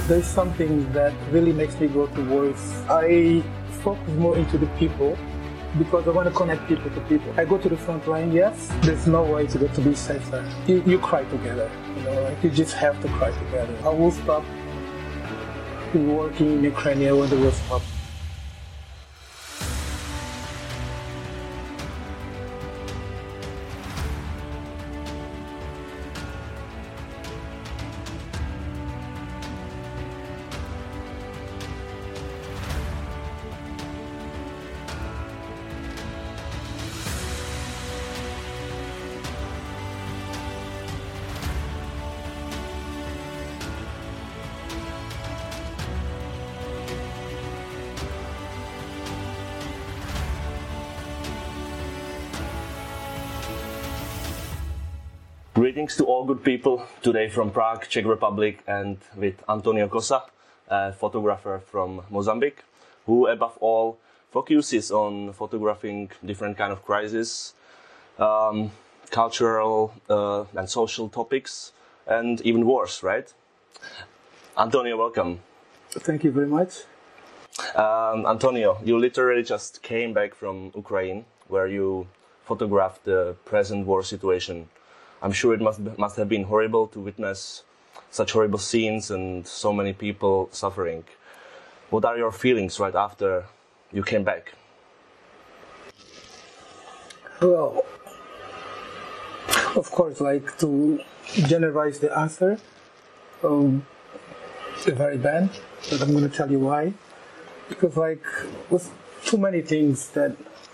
There's something that really makes me go to wars. I focus more into the people because I want to connect people to people. I go to the front line, yes. There's no way to go to be safer. You cry together, like you just have to cry together. I will stop working in Ukraine when the war stops. Greetings to all good people, today from Prague, Czech Republic, and with Antonio Kosa, a photographer from Mozambique, who above all focuses on photographing different kind of crises, cultural and social topics, and even wars, right? Antonio, welcome. Thank you very much. Antonio, you literally just came back from Ukraine, where you photographed the present war situation. I'm sure it must have been horrible to witness such horrible scenes and so many people suffering. What are your feelings right after you came back? Well, of course, like to generalize the answer, it's very bad, but I'm going to tell you why. Because like with too many things that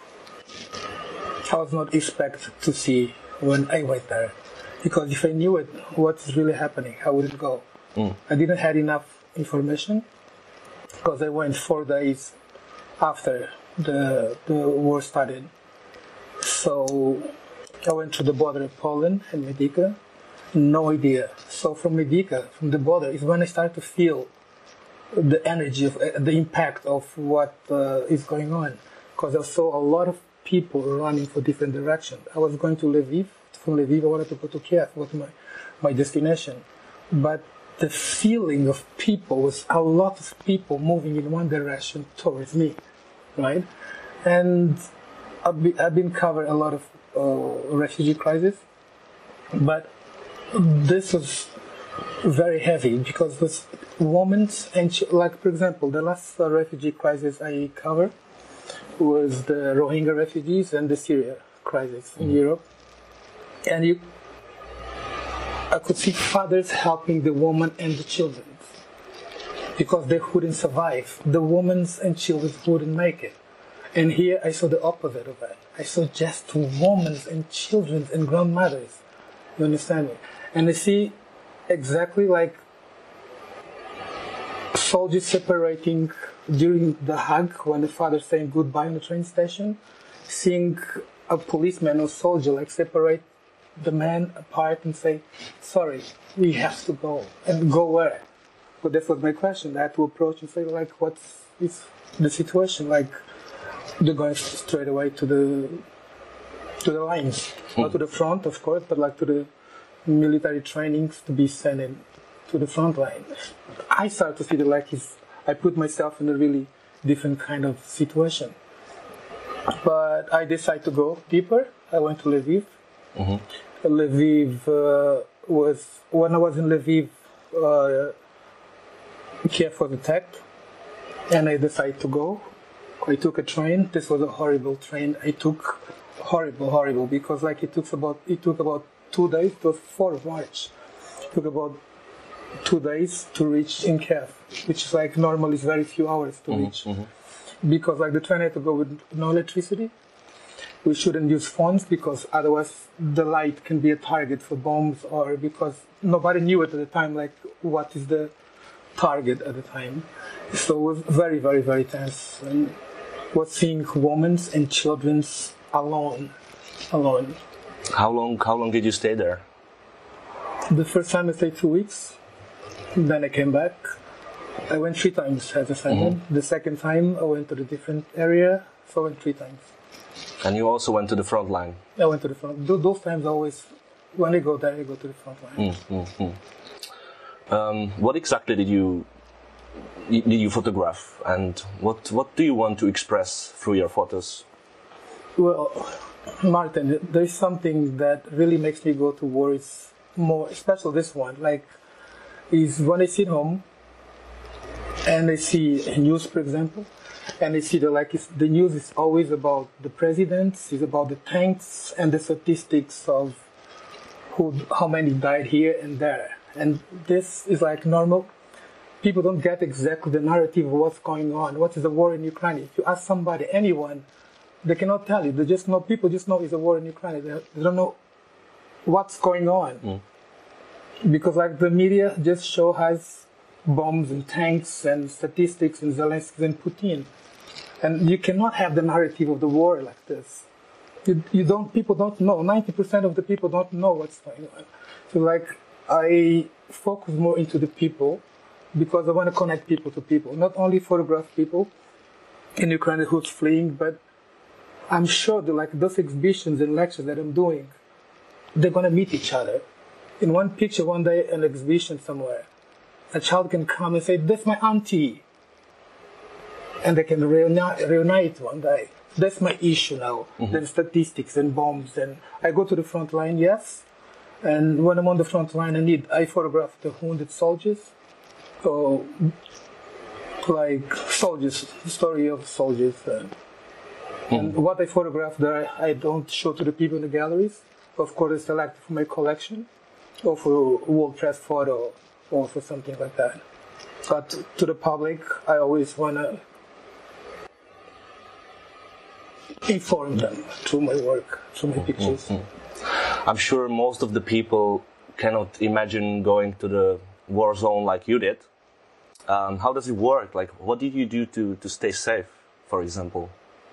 I was not expect to see when I went there, because if I knew what's really happening, how would it go? I didn't have enough information because I went 4 days after the war started. So I went to the border of Poland and Medyka, no idea. So from Medyka, from the border, is when I started to feel the energy of the impact of what is going on, because I saw a lot of people running for different directions. I was going to Lviv. From Lviv, I wanted to go to Kiev, go to my destination. But the feeling of people was a lot of people moving in one direction towards me, right? And I've been covering a lot of refugee crises, but this was very heavy because with women and like, for example, the last refugee crisis I covered was the Rohingya refugees and the Syria crisis in Europe. And I could see fathers helping the women and the children because they couldn't survive. The women and children wouldn't make it. And here I saw the opposite of that. I saw just women and children and grandmothers. You understand me? And I see exactly like soldiers separating during the hug when the father's saying goodbye on the train station, seeing a policeman or soldier like separate the man apart and say, sorry, we have to go. And go where? But that was my question. I had to approach and say, like, what's the situation? Like, they're going straight away to the lines. Not to the front, of course, but like to the military trainings to be sent in to the front line. I started to see that like I put myself in a really different kind of situation. But I decided to go deeper. I went to Lviv. Lviv was, when I was in Lviv, Kiev was attacked, and I decided to go. I took a train. This was a horrible train. I took horrible, because like it took about 2 days. It was 4th of March. It took about 2 days to reach in Kiev, which is like normally is very few hours to reach, because like the train had to go with no electricity. We shouldn't use phones because otherwise the light can be a target for bombs, or because nobody knew it at the time, like what is the target at the time. So it was very, very, very tense. And was seeing women and children alone. How long did you stay there? The first time I stayed 2 weeks. Then I came back. I went 3 times as a second. The second time I went to the different area, so I went 3 times. And you also went to the front line? I went to the front. Those times always, when I go there, I go to the front line. What exactly did you did you photograph, and what do you want to express through your photos? Well, Martin, there's something that really makes me go to war. It's more, especially this one, like, is when I sit home and I see news, for example, and I see the news is always about the presidents, it's about the tanks and the statistics of how many died here and there. And this is like normal. People don't get exactly the narrative of what's going on. What is the war in Ukraine? If you ask somebody, anyone, they cannot tell you. They just know, people just know it's a war in Ukraine. They don't know what's going on. Because like the media just show has bombs and tanks and statistics and Zelensky and Putin. And you cannot have the narrative of the war like this. People don't know. 90% of the people don't know what's going on. So like, I focus more into the people because I want to connect people to people. Not only photograph people in Ukraine who's fleeing, but I'm sure that like those exhibitions and lectures that I'm doing, they're going to meet each other. In one picture, one day, an exhibition somewhere, a child can come and say, "That's my auntie." And they can reunite one day. That's my issue now. There's statistics and bombs. And I go to the front line, yes. And when I'm on the front line, I photograph the wounded soldiers. So, like soldiers, the story of soldiers. And what I photograph there, I don't show to the people in the galleries. Of course, I select for my collection, or for World Press photo, or for something like that. But to the public, I always want to inform them through my work, through my pictures. I'm sure most of the people cannot imagine going to the war zone like you did. How does it work? Like, what did you do to stay safe, for example?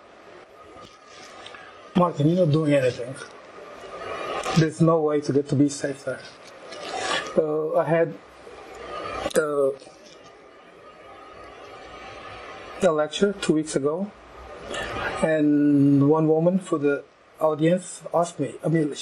Martin, you're not doing anything. There's no way to be safe there. I had a lecture 2 weeks ago, and one woman for the audience asked me. I mean,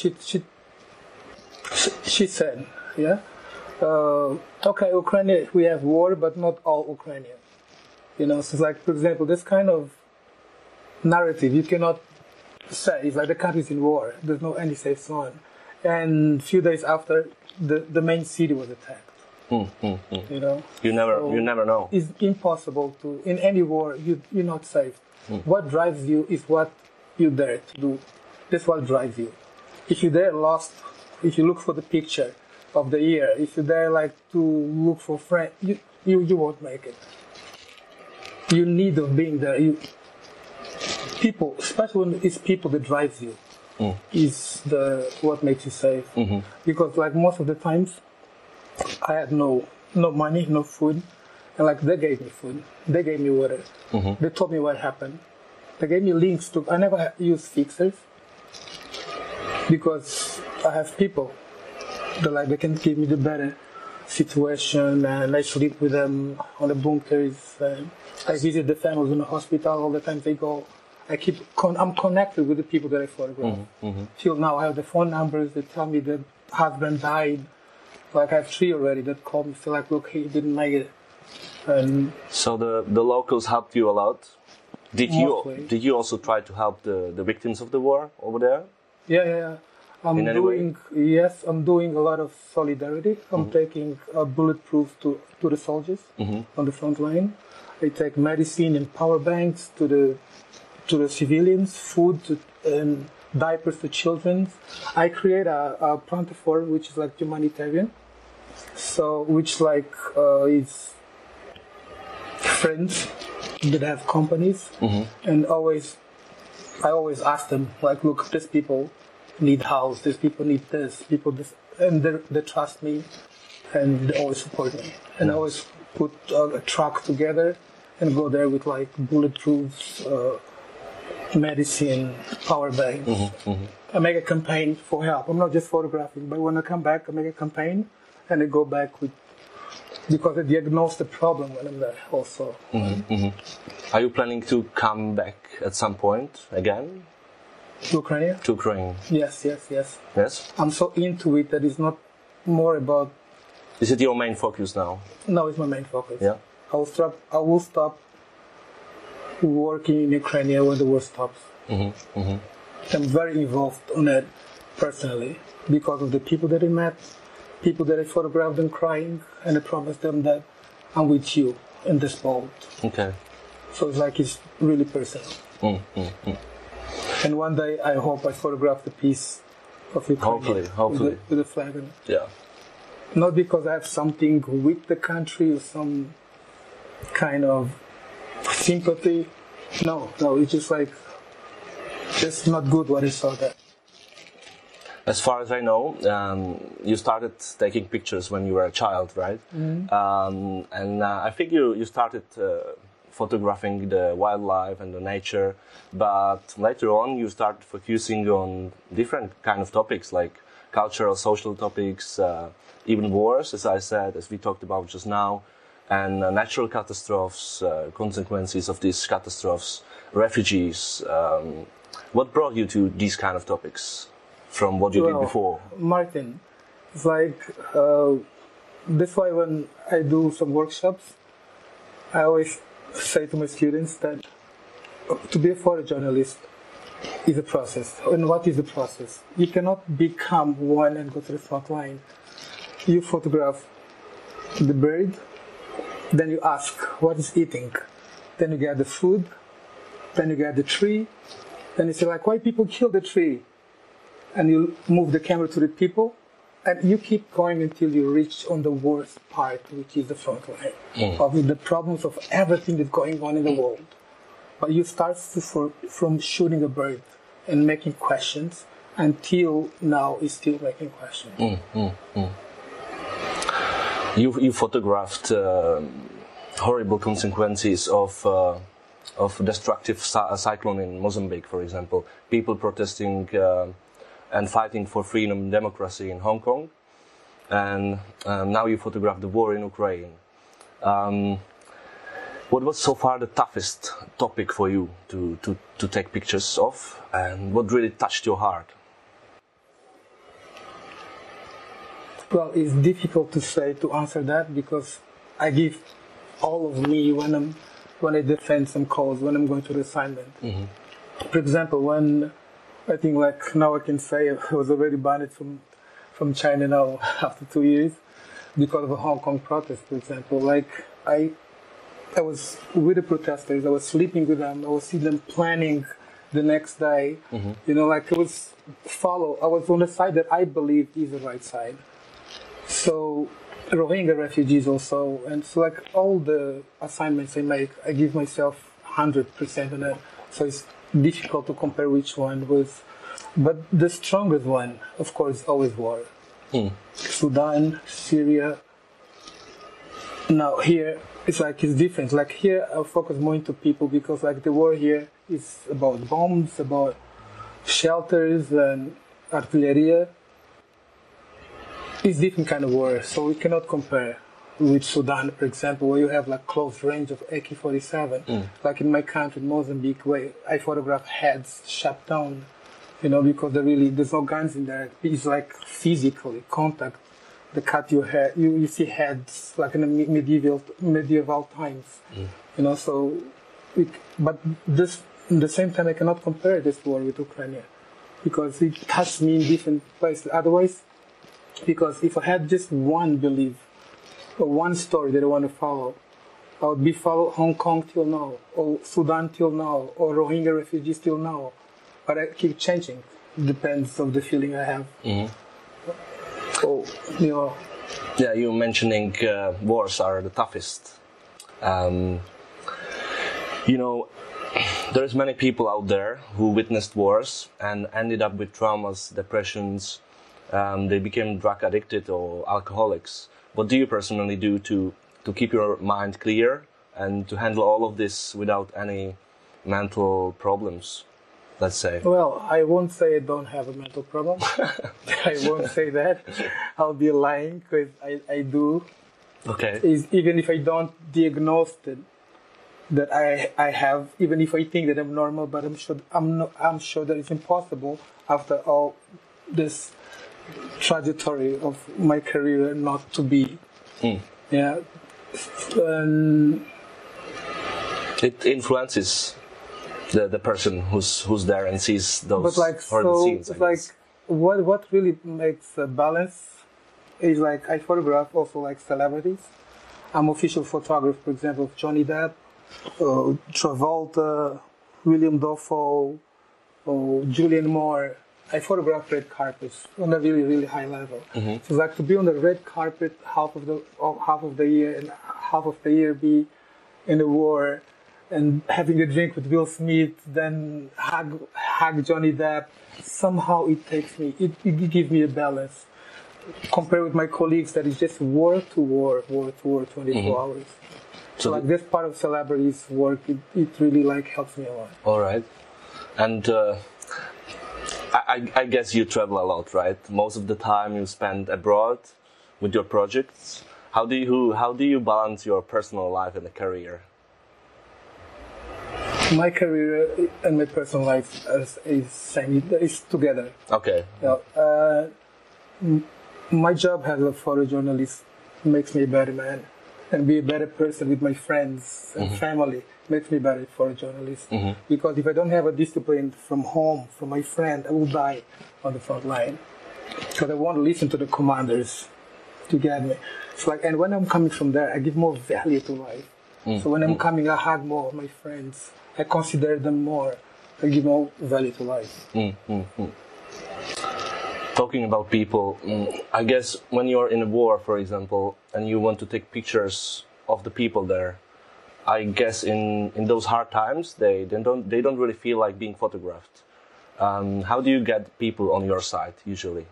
she said, "Yeah, okay, Ukraine, we have war, but not all Ukrainian." You know, so it's like, for example, this kind of narrative you cannot say. It's like the country's in war. There's no any safe zone. And a few days after, the main city was attacked. You know, you never know. It's impossible to, in any war, you're not safe. What drives you is what you dare to do. That's what drives you. If you're there lost, if you look for the picture of the year, if you're there like to look for friends, you won't make it. You need of being there. People, especially when it's people that drives you, is what makes you safe. Because like most of the times, I had no money, no food, and like they gave me food, they gave me water, they told me what happened, they gave me links to. I never use fixers because I have people that like they can give me the better situation, and I sleep with them on the bunkers. I visit the families in the hospital all the time they go. I'm connected with the people that I photograph. Till now, I have the phone numbers. They tell me that husband died. Like I have 3 already that called me. Feel like, look, he didn't make it. And so the locals helped you a lot. Did you also try to help the victims of the war over there? Yeah. I'm doing a lot of solidarity. I'm taking bulletproof to the soldiers on the front line. I take medicine and power banks to the civilians, food and diapers to children. I create a Pronto4, which is like humanitarian. So, which like is friends that have companies, and I always ask them like, look, these people need house, these people need this, and they trust me, and they always support me, and I always put a truck together and go there with like bulletproofs, medicine, power banks. I make a campaign for help. I'm not just photographing, but when I come back, I make a campaign and I go back because I diagnose the problem when I'm there also. Are you planning to come back at some point again? To Ukraine? To Ukraine. Yes. Yes? I'm so into it that it's not more about... Is it your main focus now? No, it's my main focus. Yeah. I will stop working in Ukraine when the war stops. I'm very involved on it personally because of the people that I met, people that I photographed them crying, and I promised them that I'm with you in this boat. Okay. So it's like it's really personal. And one day I hope I photograph the piece of Ukraine hopefully. With the flag on it. Yeah. Not because I have something with the country or some kind of sympathy. No, it's just like, it's not good what I saw there. As far as I know, you started taking pictures when you were a child, right? And I think you started photographing the wildlife and the nature, but later on you started focusing on different kind of topics like cultural, social topics, even wars, as I said, as we talked about just now, and natural catastrophes, consequences of these catastrophes, refugees. What brought you to these kind of topics from what you did before? Martin, it's like, that's why when I do some workshops, I always say to my students that to be a photojournalist is a process. And what is the process? You cannot become one and go to the front line. You photograph the bird, then you ask what is eating, then you get the food, then you get the tree, then you say like, why people kill the tree? And you move the camera to the people, and you keep going until you reach on the worst part, which is the front line of the problems of everything that's going on in the world. But you start from shooting a bird and making questions until now is still making questions. You photographed horrible consequences of destructive cyclone in Mozambique, for example. People protesting and fighting for freedom and democracy in Hong Kong. And now you photograph the war in Ukraine. What was so far the toughest topic for you to take pictures of, and what really touched your heart? Well, it's difficult to answer that because I give all of me when I defend some cause, when I'm going to the assignment. For example, when I think like now I can say I was already banned from China now after 2 years because of a Hong Kong protest, for example. Like I was with the protesters, I was sleeping with them, I was seeing them planning the next day. You know, like I was on the side that I believe is the right side. So Rohingya refugees also, and so like all the assignments I make, I give myself 100% on it. So it's difficult to compare which one was, but the strongest one, of course, is always war. Sudan, Syria. Now here, it's different. Like here, I focus more into people because like the war here is about bombs, about shelters and artillery. It's different kind of war, so we cannot compare with Sudan, for example, where you have like close range of AK-47. Like in my country, Mozambique, where I photograph heads shot down, you know, because there's no guns in there. It's like physically contact. They cut your head. You see heads like in the medieval times, you know. So, but this at the same time, I cannot compare this war with Ukraine because it touched me in different places. Otherwise, because if I had just one belief or one story that I want to follow, I would be follow Hong Kong till now, or Sudan till now, or Rohingya refugees till now. But I keep changing. It depends on the feeling I have. So, you know. Yeah, you mentioning wars are the toughest. You know, there's many people out there who witnessed wars and ended up with traumas, depressions. They became drug addicted or alcoholics. What do you personally do to keep your mind clear and to handle all of this without any mental problems, let's say? Well, I won't say I don't have a mental problem. I won't say that. I'll be lying because I do. Okay. Even if I don't diagnose that I have, even if I think that I'm normal, but I'm sure that it's impossible after all this trajectory of my career not to be. Yeah, And It influences the person who's there and sees those but like horrible so, scenes. I like guess. what really makes a balance is like I photograph also like celebrities. I'm official photographer, for example, of Johnny Depp, Travolta, William Dafoe, Julianne Moore. I photograph red carpets on a really, really high level. So it's like to be on the red carpet half of the year and half of the year be in the war and having a drink with Will Smith, then hug Johnny Depp. Somehow it takes me, it gives me a balance. Compared with my colleagues that is just war to war, 24 hours. So like this part of celebrities work, it really like helps me a lot. All right, and I guess you travel a lot, right? Most of the time you spend abroad with your projects. How do you balance your personal life and the career? My career and my personal life is together. Okay. My job as a photojournalist makes me a better man, and be a better person with my friends and family makes me a better photojournalist. Because if I don't have a discipline from home, from my friend, I will die on the front line. Because I won't listen to the commanders to get me. It's like, and when I'm coming from there, I give more value to life. So when I'm coming, I hug more of my friends. I consider them more. I give more value to life. Talking about people, I guess when you're in a war, for example, and you want to take pictures of the people there, I guess in those hard times they don't really feel like being photographed. How do you get people on your side usually?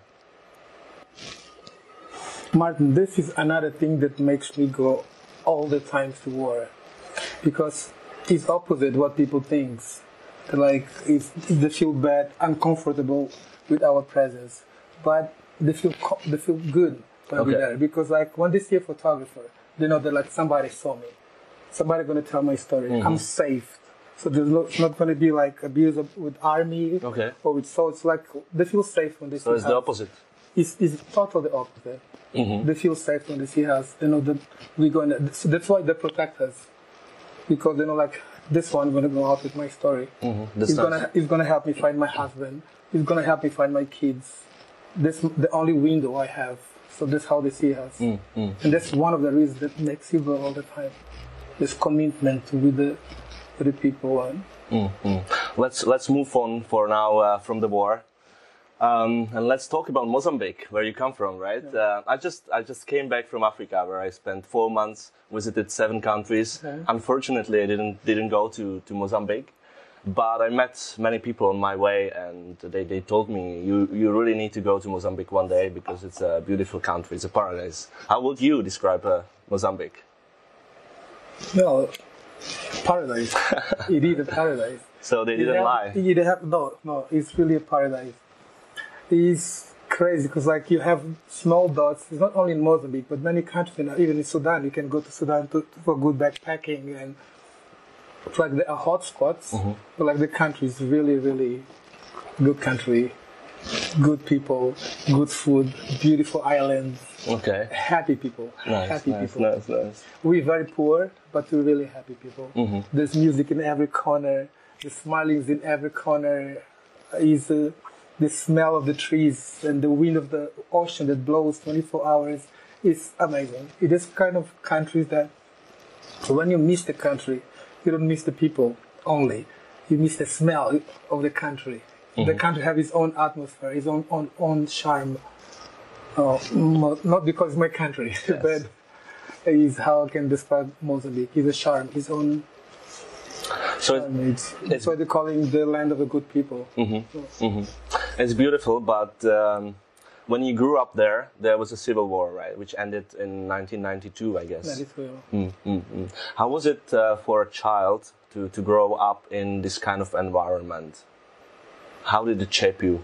Martin, this is another thing that makes me go all the time to war, because it's opposite what people think. Like they feel bad, uncomfortable with our presence, but they feel good when we're there, because like when they see a photographer, they know that like somebody saw me, somebody gonna tell my story. I'm safe, so it's not gonna be like abuse with army or with soldiers. Like they feel safe when they see us. So it's the opposite. It's totally the opposite. They feel safe when they see us. They know that we're gonna. So that's why they protect us, because they know like this one gonna go out with my story. He's gonna help me find my husband. He's gonna help me find my kids. This the only window I have. So that's how they see us, and that's one of the reasons that makes you go all the time. This commitment with the people. Let's move on for now from the war. And let's talk about Mozambique, where you come from, right? Yeah. I just came back from Africa, where I spent 4 months, visited 7 countries. Okay. Unfortunately, I didn't go to Mozambique, but I met many people on my way, and they told me you really need to go to Mozambique one day because it's a beautiful country, it's a paradise. How would you describe Mozambique? No, paradise. It is a paradise. So they didn't lie. No, it's really a paradise. It's crazy because like you have small dots. It's not only in Mozambique, but many countries, even in Sudan. You can go to Sudan for good backpacking, and it's like there are hot spots. But like the country is really, really good country, good people, good food, beautiful islands. Okay. Happy people. Nice. Nice. We're very poor, but we're really happy people. There's music in every corner. The smilings in every corner. Is the smell of the trees and the wind of the ocean that blows 24 hours is amazing. It is kind of countries that when you miss the country, you don't miss the people only. You miss the smell of the country. The country has its own atmosphere, its own charm. Not because it's my country, yes. but is how I can describe Mozambique. It's a charm, its own. So that's why they're calling the land of the good people. It's beautiful, but when you grew up there was a civil war, right, which ended in 1992, I guess. That is real. How was it for a child to grow up in this kind of environment? How did it shape you?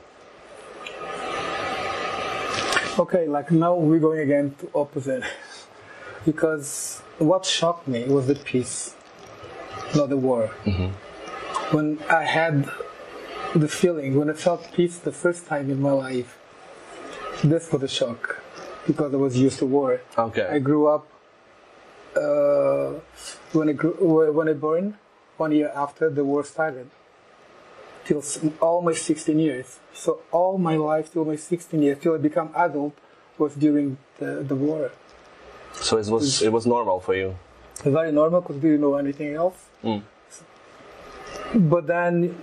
Okay, like now we're going again to opposite. Because what shocked me was the peace, not the war. When I had the feeling, when I felt peace the first time in my life, this was a shock, because I was used to war. Okay. I grew up uh, when I born, 1 year after the war started, till almost 16 years. So all my life till my 16 years, till I become adult, was during the war. So it was normal for you. Very normal because we didn't know anything else. But then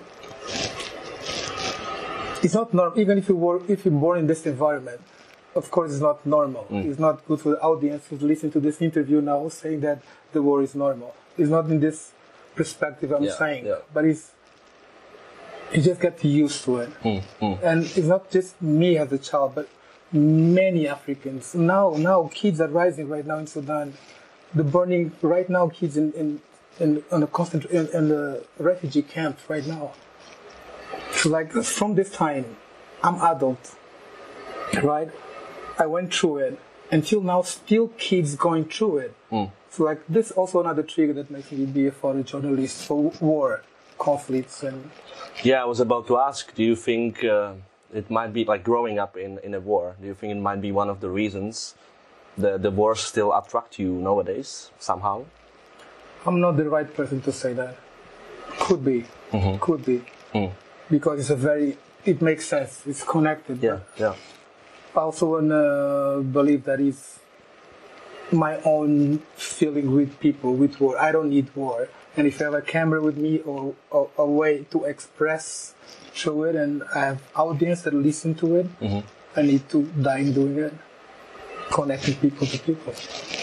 it's not normal. Even if you're born in this environment, of course, it's not normal. It's not good for the audience who's listening to this interview now saying that the war is normal. It's not in this perspective I'm saying, but you just get used to it. And it's not just me as a child, but many Africans. Now kids are rising right now in Sudan. The burning right now, kids in the refugee camps right now. So like from this time, I'm adult, right? I went through it. Until now, still kids going through it. So like this also another trigger that makes me be a photojournalist for war, conflicts and. Yeah, I was about to ask. Do you think it might be like growing up in a war? Do you think it might be one of the reasons the wars still attract you nowadays somehow? I'm not the right person to say that. Could be, could be, because it makes sense. It's connected. Yeah. I also wanna believe that it's my own feeling with people, with war. I don't need war. And if I have a camera with me or a way to express through it and I have audience that listen to it, I need to die in doing it. Connecting people to people.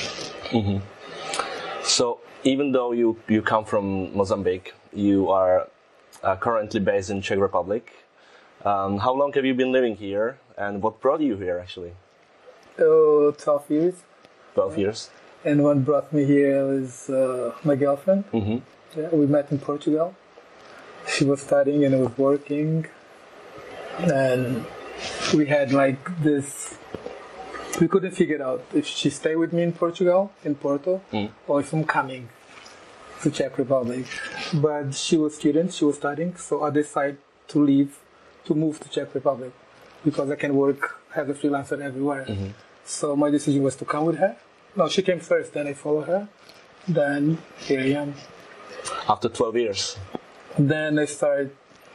So even though you come from Mozambique, you are currently based in Czech Republic. How long have you been living here and what brought you here actually? 12 years. 12 years. And what brought me here was my girlfriend. Yeah, we met in Portugal. She was studying and I was working. And we had like this, we couldn't figure out if she stayed with me in Portugal, in Porto, or if I'm coming to Czech Republic. But she was a student, she was studying, so I decided to leave, to move to Czech Republic because I can work as a freelancer everywhere. So my decision was to come with her. No, she came first, then I followed her. Then here I am. After 12 years? Then I started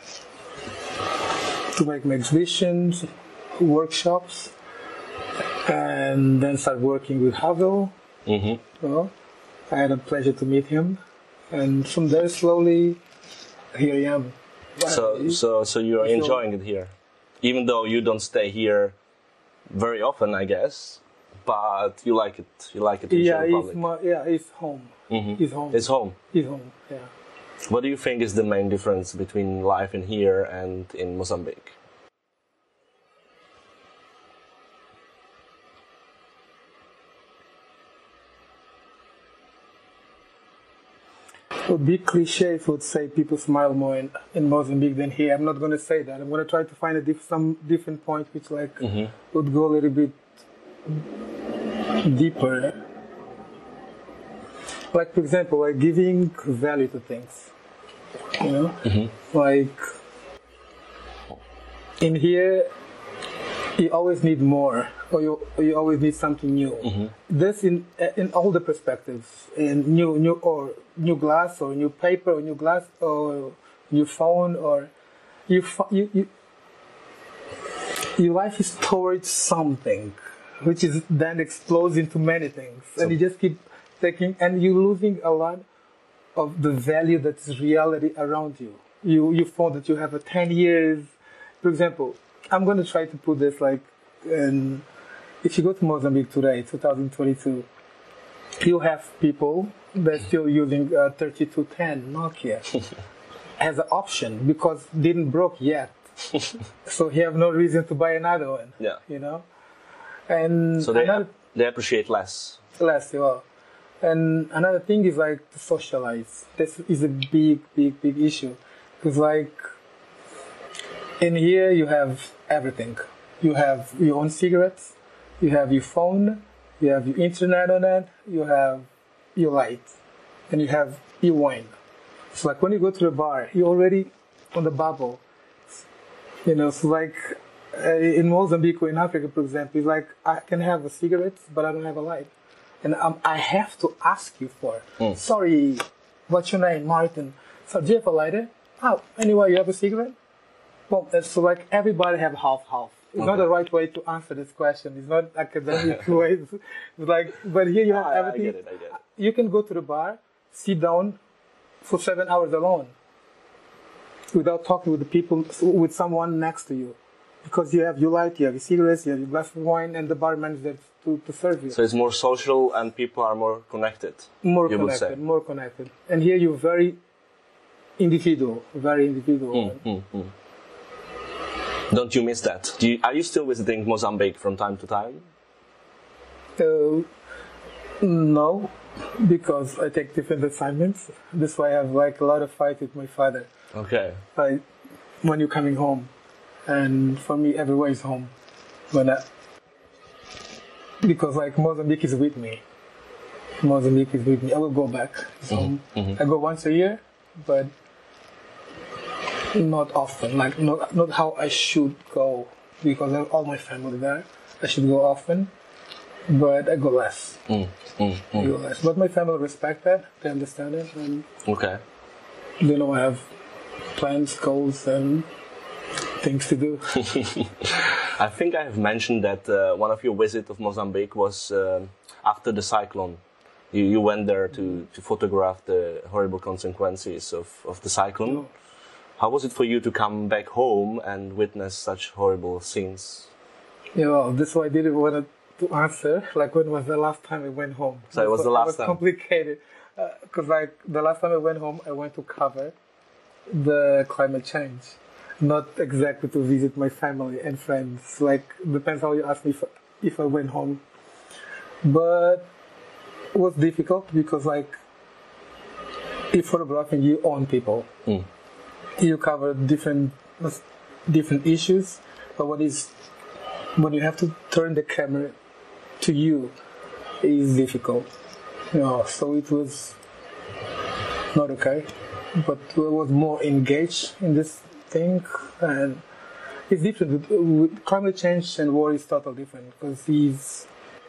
to make my exhibitions, workshops, and then started working with Havel. Well, I had a pleasure to meet him. And from there, slowly, here I am. So you're enjoying it here? Even though you don't stay here very often, I guess, but you like it. You like it in Czech Republic. It's home. It's home. It's home. It's home. Yeah. What do you think is the main difference between life in here and in Mozambique? It would be cliche if I would say people smile more in Mozambique than here. I'm not going to say that. I'm going to try to find some different point which would go a little bit deeper. Like, for example, like giving value to things. You know? Like, in here, you always need more, or you always need something new. This in all the perspectives, in new glass, or new paper, or new glass, or new phone, or your life is towards something, which is then explodes into many things, and you just keep taking, and you're losing a lot of the value that's reality around you. You found that you have 10 years, for example. I'm going to try to put this like, if you go to Mozambique today, 2022, you have people that are still using 3210 Nokia as an option because didn't broke yet. So you have no reason to buy another one. Yeah. You know? And so they appreciate less. Less, yeah. And another thing is like to socialize. This is a big issue. Because like, in here you have everything. You have your own cigarettes, you have your phone, you have your internet on it, you have your light, and you have your wine. So like when you go to the bar, you're already on the bubble. You know, so like in Mozambique or in Africa, for example, it's like I can have a cigarette, but I don't have a light. and I have to ask you for. Sorry, what's your name, Martin? So do you have a lighter? Oh, anyway, you have a cigarette? Well, it's like everybody have half-half. It's not the right way to answer this question. It's not academic way. It's like, but here you have everything. I get it. You can go to the bar, sit down for 7 hours alone, without talking with the people, with someone next to you, because you have your light, you have your cigarettes, you have your glass of wine, and the barman is there to serve you. So it's more social, and people are more connected. More connected. And here you're very individual. Don't you miss that? Are you still visiting Mozambique from time to time? No, because I take different assignments. That's why I have like a lot of fights with my father. Okay. Like when you're coming home, and for me, everywhere is home. Because like Mozambique is with me. I will go back. So I go once a year, but not often. Like not how I should go, because I have all my family there. I should go often, but I go less. But my family respect that. They understand it, and they know I have plans, goals, and things to do. I think I have mentioned that one of your visits of Mozambique was after the cyclone. You went there to photograph the horrible consequences of the cyclone. No. How was it for you to come back home and witness such horrible scenes? Yeah, well, this one I didn't want to answer. Like, when was the last time I went home? So it was the last time? It was complicated. Because like the last time I went home, I went to cover the climate change. Not exactly to visit my family and friends. Like, depends how you ask me if I went home. But it was difficult because like, if photographing, you own people. You cover different issues, but when you have to turn the camera to you, it is difficult. So it was not okay, but I was more engaged in this thing, and it's different. With climate change and war is totally different, because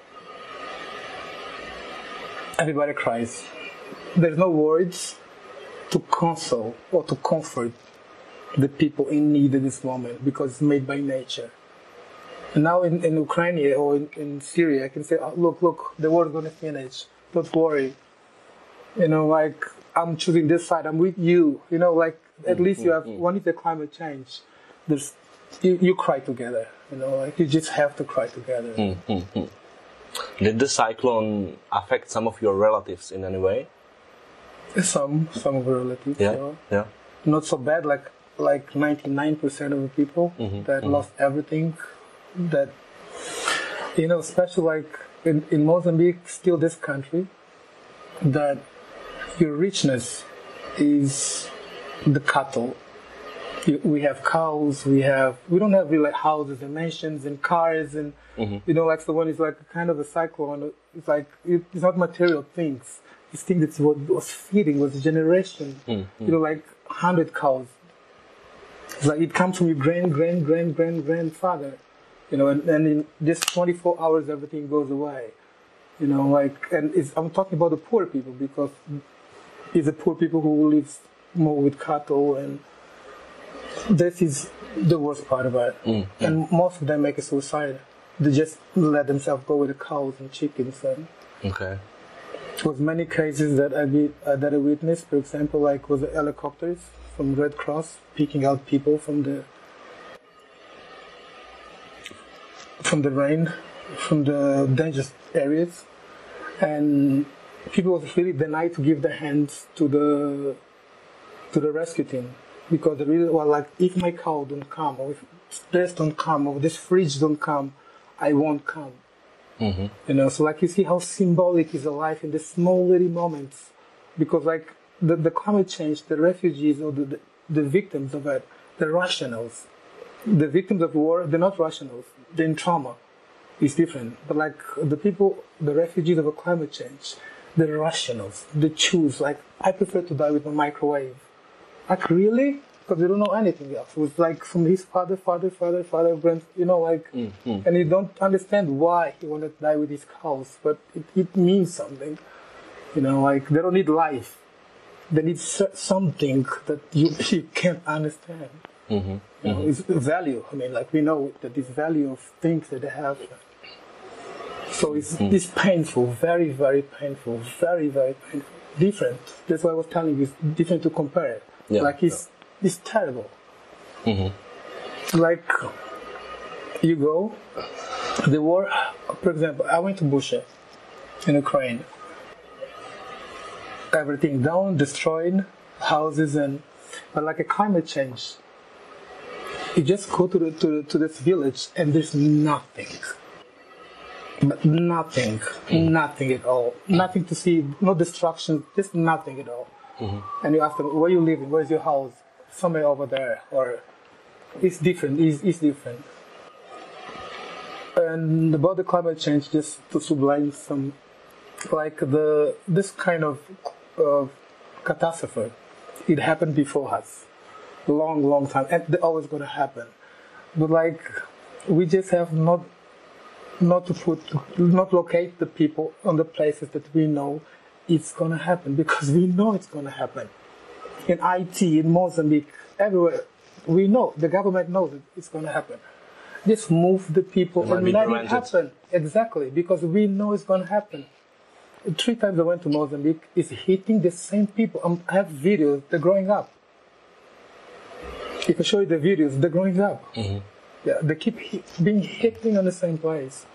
everybody cries. There's no words to console or to comfort the people in need at this moment, because it's made by nature. And now in Ukraine or in Syria, I can say, oh, look, the war is going to finish. Don't worry. Like, I'm choosing this side. I'm with you. Like, at least you have, when it's the climate change, you cry together. Like, you just have to cry together. Did the cyclone affect some of your relatives in any way? Some of the relatives. Yeah. Not so bad, like 99% of the people that lost everything. That, especially like in Mozambique, still this country, that your richness is the cattle. We have cows, we don't have really like houses and mansions and cars and, like the one is like kind of a cyclone. It's like, it's not material things. It's things that's what was feeding, was a generation. Like 100 cows. It's like it comes from your grandfather. And in just 24 hours, everything goes away. I'm talking about the poor people, because it's the poor people who live more with cattle, and this is the worst part of it. And most of them make a suicide. They just let themselves go with the cows and chickens. And okay. There was many cases that I witnessed. For example, like was the helicopters from Red Cross picking out people from the rain, from the dangerous areas, and people was really denied to give their hands to the rescue team, because they really were like, if my cow don't come, or if this don't come, or this fridge don't come, I won't come. So like you see how symbolic is life in the small little moments, because like the climate change, the refugees or the victims of it, the rationals. The victims of war, they're not rationals. They're in trauma. It's different. But like the people, the refugees of a climate change, they're rationals. They choose, like, I prefer to die with a microwave. Like, really? because you don't know anything else. It was like from his father, and you don't understand why he wanted to die with his cows, but it means something. Like they don't need life. They need something that you can't understand. It's value. I mean, like we know that this value of things that they have. So it's painful, very, very painful, very, very painful. Different. That's why I was telling you, it's different to compare it. Yeah. Like it's terrible. Like you go, the war. For example, I went to Bucha in Ukraine. Everything down, destroyed, houses, but like a climate change. You just go to this village and there's nothing. But nothing at all. Nothing to see, no destruction, just nothing at all. And you ask them, where are you living? Where's your house? Somewhere over there. Or it's different. It's different. And about the climate change, just to sublime some, like this kind of catastrophe, it happened before us, long time, and they're always going to happen. But like, we just have not locate the people on the places that we know it's going to happen, because we know it's going to happen. In IT, in Mozambique, everywhere, we know, the government knows it's going to happen. Just move the people and let it happen. Exactly, because we know it's going to happen. 3 times I went to Mozambique, it's hitting the same people. I have videos, they're growing up. If I show you the videos, they're growing up. Yeah, they keep being hitting on the same place,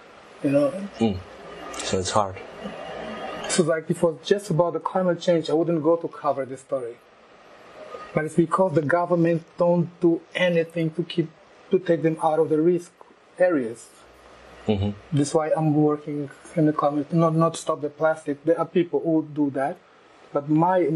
So it's hard. So like, if it was just about the climate change, I wouldn't go to cover this story. But it's because the government don't do anything to take them out of the risk areas. That's why I'm working in the climate, not stop the plastic. There are people who do that, but my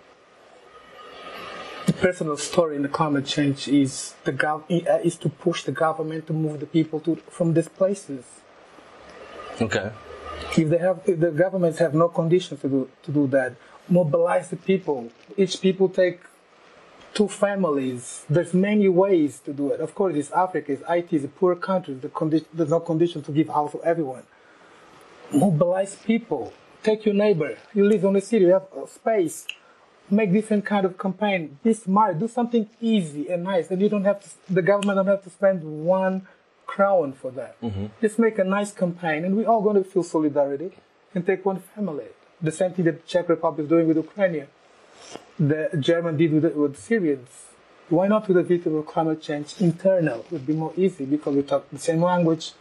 personal story in the climate change is is to push the government to move the people from these places. Okay. If the governments have no conditions to do that, mobilize the people. Each people take 2 families. There's many ways to do it. Of course, it's Africa, it's a poor country. There's no condition to give house to everyone. Mobilize people. Take your neighbor. You live on the city, you have space. Make different kind of campaign. Be smart. Do something easy and nice. And the government don't have to spend 1 crown for that. Just make a nice campaign, and we're all going to feel solidarity and take 1 family. The same thing that Czech Republic is doing with Ukraine. The German did with Syrians. Why not with the victim of climate change internal? It would be more easy because we talk the same language.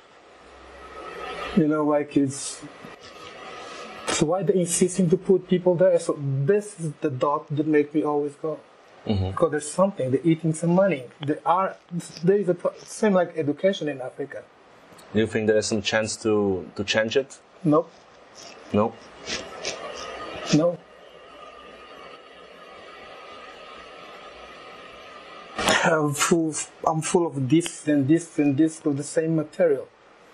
Like it's. So why they insisting to put people there? So this is the dot that makes me always go. Because there's something. They're eating some money. There is same like education in Africa. Do you think there is some chance to change it? No. No. No. I'm full of this and this and this of the same material.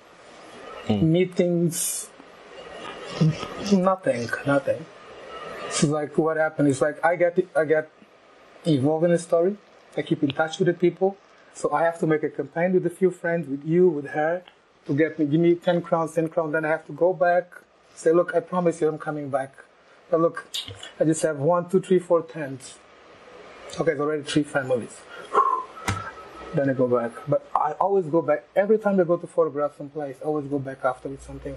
Meetings, nothing. So like what happened is like I get involved in the story. I keep in touch with the people. So I have to make a campaign with a few friends, with you, with her, to give me 10 crowns. Then I have to go back, say, look, I promise you I'm coming back. But look, I just have 1, 2, 3, 4 tents. Okay, it's already 3 families. Then I go back. But I always go back. Every time I go to photograph someplace, I always go back after with something.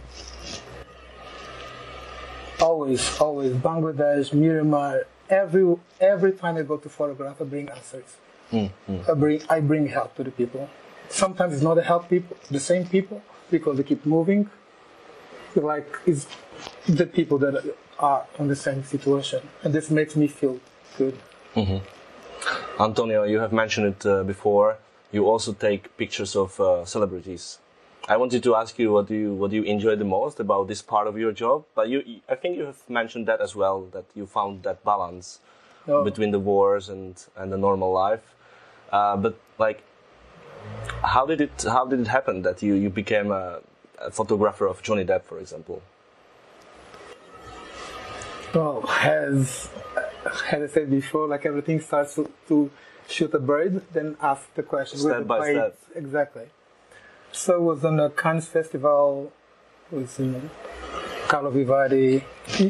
Always. Bangladesh, Myanmar. Every time I go to photograph, I bring answers. I bring help to the people. Sometimes it's not the same people, because they keep moving. Like, it's the people that are in the same situation. And this makes me feel good. Antonio, you have mentioned it before. You also take pictures of celebrities. I wanted to ask you what do you enjoy the most about this part of your job? But I think you have mentioned that as well, that you found that balance between the wars and the normal life. But like, how did it happen that you became a photographer of Johnny Depp, for example? Well, as I said before, like everything starts to shoot a bird, then ask the question. Step by step. Exactly. So it was on a Cannes Festival, it was in Carlo Vivari.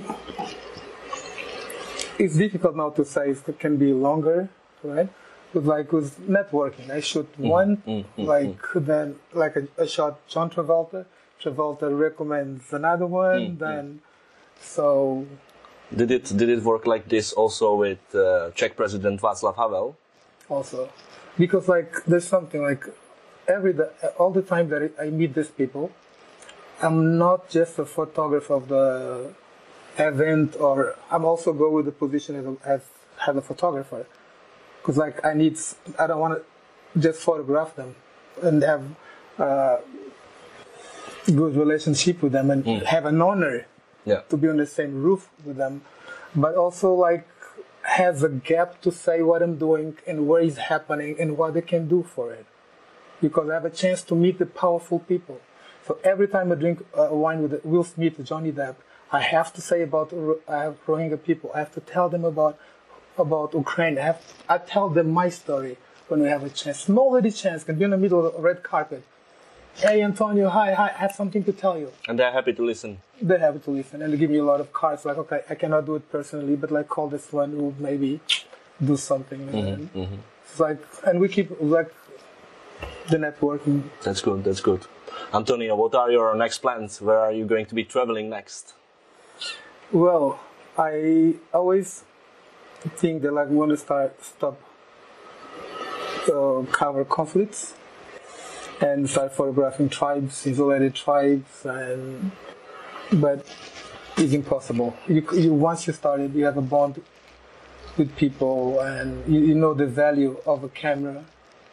It's difficult now to say, it can be longer, right? But like it was networking. I shoot one, then a shot John Travolta. Travolta recommends another one, then so. Did it work like this also with Czech President Václav Havel? Also, because like there's something like all the time that I meet these people, I'm not just a photographer of the event, or I'm also go with the position as a photographer, because like I don't want to just photograph them and have good relationship with them and have an honor to be on the same roof with them, but also like has a gap to say what I'm doing and where it's happening and what they can do for it, because I have a chance to meet the powerful people. So every time I drink wine with Will Smith, Johnny Depp, I have to say about Rohingya people. I have to tell them about Ukraine. I tell them my story when we have a chance. Small little chance, can be in the middle of a red carpet. Hey Antonio, hi, I have something to tell you. And they're happy to listen. They're happy to listen, and they give me a lot of cards. Like, okay, I cannot do it personally, but like call this one who maybe do something. It's like, and we keep like the networking. That's good. That's good. Antonio, what are your next plans? Where are you going to be traveling next? Well, I always think that like we want to stop cover conflicts and start photographing tribes, isolated tribes, but it's impossible. You once you started, you have a bond with people, and you know the value of a camera.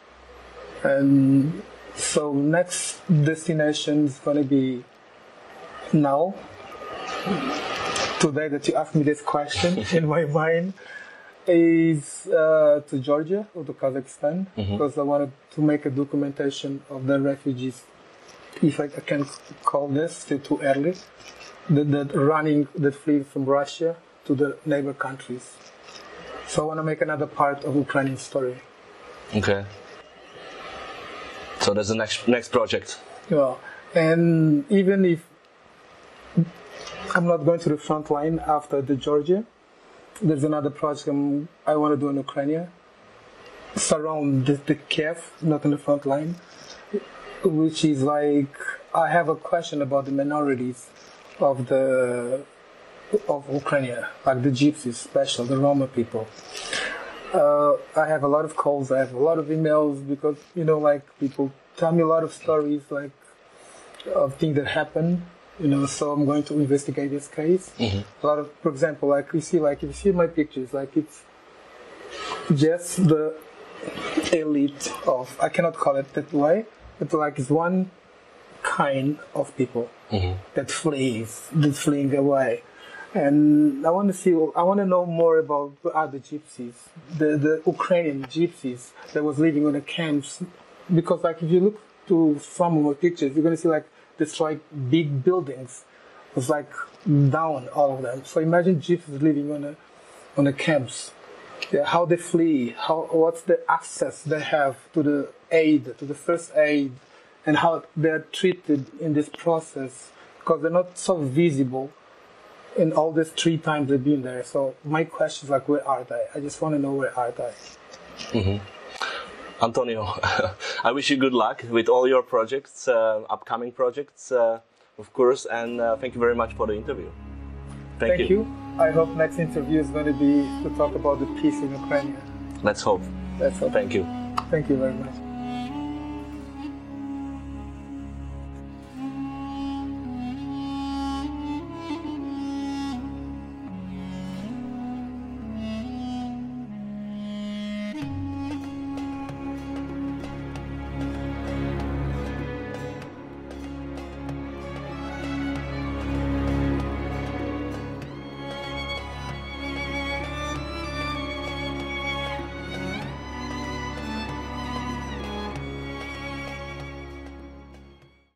And so next destination is going to be now. Today that you asked me this question in my mind is to Georgia or to Kazakhstan, because I wanted to make a documentation of the refugees, if I can call this, still too early, that flee from Russia to the neighbor countries. So I want to make another part of Ukrainian story. Okay. So that's the next project. Well, and even if I'm not going to the front line after the Georgia, there's another project I want to do in Ukraine, surround the Kiev, not in the front line, which is like, I have a question about the minorities of Ukraine, like the Gypsies, special, the Roma people. I have a lot of calls, I have a lot of emails, because, you know, like people tell me a lot of stories, like of things that happen. You know, so I'm going to investigate this case. A lot of, for example, like if you see my pictures, like it's just the elite of, I cannot call it that way, but like it's one kind of people that's fleeing away. And I want to know more about the other gypsies, the Ukrainian gypsies that was living on the camps, because like if you look to some of my pictures, you're going to see like destroyed big buildings. It was like down, all of them. So imagine gypsies living on the camps. Yeah, how they flee, what's the access they have to the first aid, and how they're treated in this process, because they're not so visible in all these 3 times they've been there. So my question is like, where are they? I just want to know, where are they? Antonio, I wish you good luck with all your projects, upcoming projects, of course, and thank you very much for the interview. Thank you. I hope next interview is going to be to talk about the peace in Ukraine. Let's hope. Let's hope. Thank you. Thank you very much.